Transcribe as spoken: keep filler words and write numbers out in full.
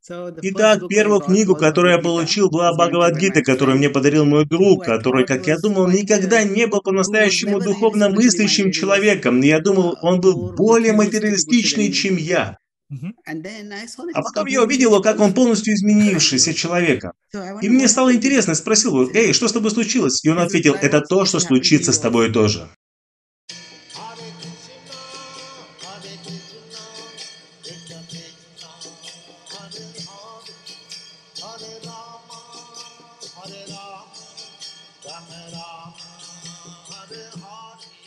Итак, первую книгу, которую я получил, была Бхагавад-гита, которую мне подарил мой друг, который, как я думал, никогда не был по-настоящему духовно мыслящим человеком. И я думал, он был более материалистичный, чем я. Мгм. А потом я увидел его, как он полностью изменившийся человека. И мне стало интересно, я спросил его: «Эй, что с тобой случилось?» И он ответил: «Это то, что случится с тобой тоже». Hare Rama, Rama Rama, Hare Hare.